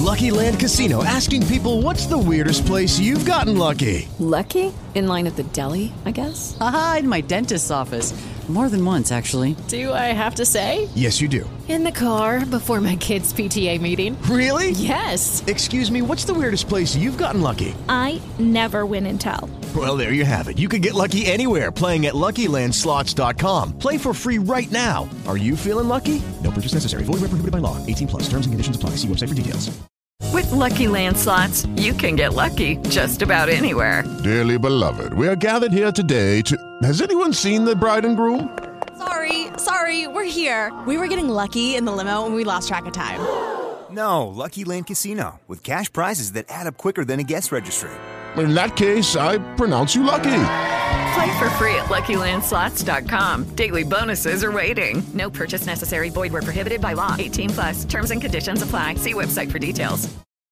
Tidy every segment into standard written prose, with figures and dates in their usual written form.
Lucky Land Casino, asking people, what's the weirdest place you've gotten lucky? Lucky? In line at the deli, I guess? Aha, in my dentist's office. More than once, actually. Do I have to say? Yes, you do. In the car before my kids' PTA meeting. Really? Yes. Excuse me, what's the weirdest place you've gotten lucky? I never win and tell. Well, there you have it. You can get lucky anywhere, playing at LuckyLandSlots.com. Play for free right now. Are you feeling lucky? No purchase necessary. Void where prohibited by law. 18 plus. Terms and conditions apply. See website for details. With Lucky Land Slots, you can get lucky just about anywhere. Dearly beloved, we are gathered here today to... Has anyone seen the bride and groom? Sorry, we're here. We were getting lucky in the limo and we lost track of time. No, Lucky Land Casino, with cash prizes that add up quicker than a guest registry. In that case, I pronounce you lucky. Play for free at LuckyLandSlots.com. Daily bonuses are waiting. No purchase necessary. Void where prohibited by law. 18 plus. Terms and conditions apply. See website for details.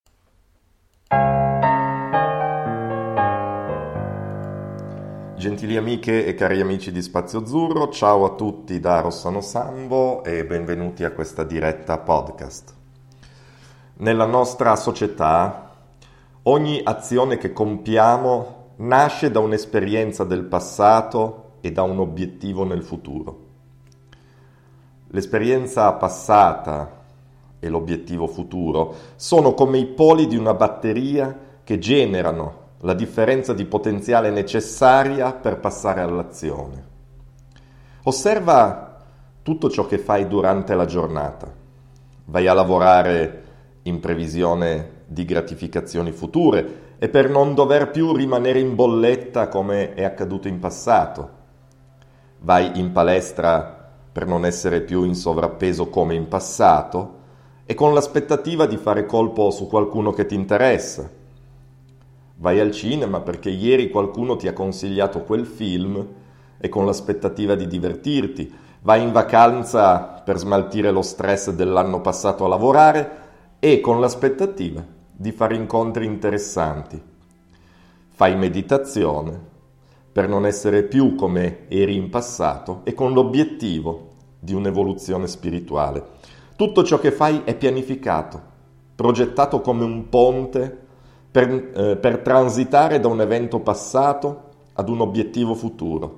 Gentili amiche e cari amici di Spazio Azzurro, ciao a tutti da Rossano Sambo e benvenuti a questa diretta podcast. Nella nostra società ogni azione che compiamo nasce da un'esperienza del passato e da un obiettivo nel futuro. L'esperienza passata e l'obiettivo futuro sono come i poli di una batteria che generano la differenza di potenziale necessaria per passare all'azione. Osserva tutto ciò che fai durante la giornata. Vai a lavorare in previsione di gratificazioni future e per non dover più rimanere in bolletta come è accaduto in passato. Vai in palestra per non essere più in sovrappeso come in passato e con l'aspettativa di fare colpo su qualcuno che ti interessa. Vai al cinema perché ieri qualcuno ti ha consigliato quel film e con l'aspettativa di divertirti. Vai in vacanza per smaltire lo stress dell'anno passato a lavorare e con l'aspettativa di fare incontri interessanti. Fai meditazione per non essere più come eri in passato e con l'obiettivo di un'evoluzione spirituale. Tutto ciò che fai è pianificato, progettato come un ponte per transitare da un evento passato ad un obiettivo futuro.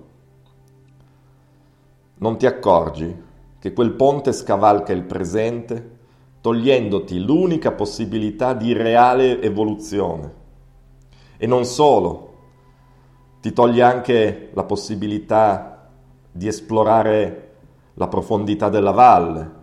Non ti accorgi che quel ponte scavalca il presente, togliendoti l'unica possibilità di reale evoluzione. E non solo, ti toglie anche la possibilità di esplorare la profondità della valle.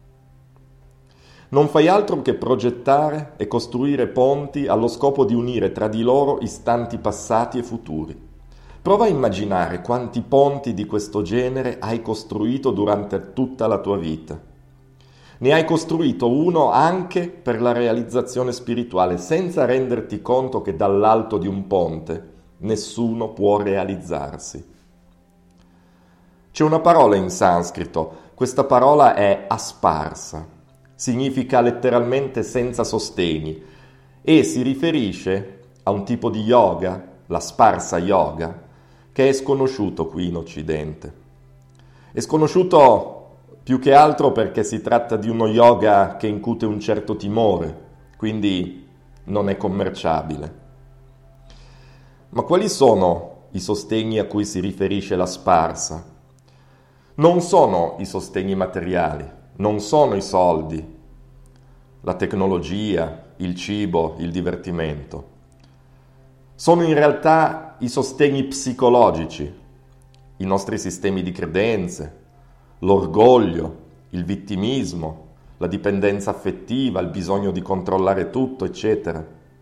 Non fai altro che progettare e costruire ponti allo scopo di unire tra di loro istanti passati e futuri. Prova a immaginare quanti ponti di questo genere hai costruito durante tutta la tua vita. Ne hai costruito uno anche per la realizzazione spirituale, senza renderti conto che dall'alto di un ponte nessuno può realizzarsi. C'è una parola in sanscrito, questa parola è asparsa. Significa letteralmente senza sostegni e si riferisce a un tipo di yoga, la sparsa yoga, che è sconosciuto qui in Occidente. È sconosciuto più che altro perché si tratta di uno yoga che incute un certo timore, quindi non è commerciabile. Ma quali sono i sostegni a cui si riferisce la sparsa? Non sono i sostegni materiali. Non sono i soldi, la tecnologia, il cibo, il divertimento. Sono in realtà i sostegni psicologici, i nostri sistemi di credenze, l'orgoglio, il vittimismo, la dipendenza affettiva, il bisogno di controllare tutto, eccetera.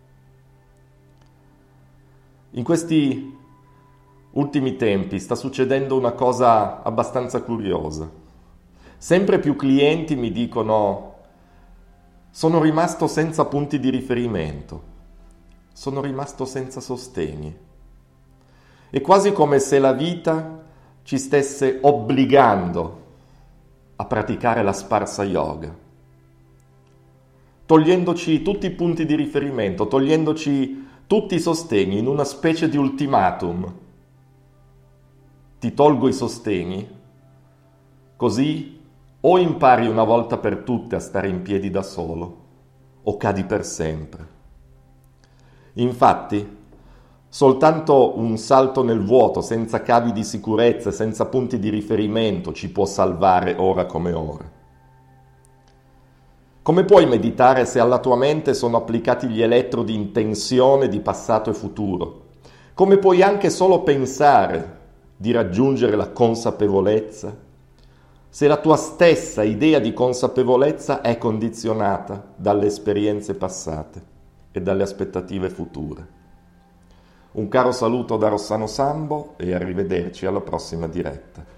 In questi ultimi tempi sta succedendo una cosa abbastanza curiosa. Sempre più clienti mi dicono: sono rimasto senza punti di riferimento, sono rimasto senza sostegni. È quasi come se la vita ci stesse obbligando a praticare la sparsa yoga, togliendoci tutti i punti di riferimento, togliendoci tutti i sostegni in una specie di ultimatum. Ti tolgo i sostegni, così o impari una volta per tutte a stare in piedi da solo, o cadi per sempre. Infatti, soltanto un salto nel vuoto, senza cavi di sicurezza, senza punti di riferimento, ci può salvare ora come ora. Come puoi meditare se alla tua mente sono applicati gli elettrodi in tensione di passato e futuro? Come puoi anche solo pensare di raggiungere la consapevolezza se la tua stessa idea di consapevolezza è condizionata dalle esperienze passate e dalle aspettative future? Un caro saluto da Rossano Sambo e arrivederci alla prossima diretta.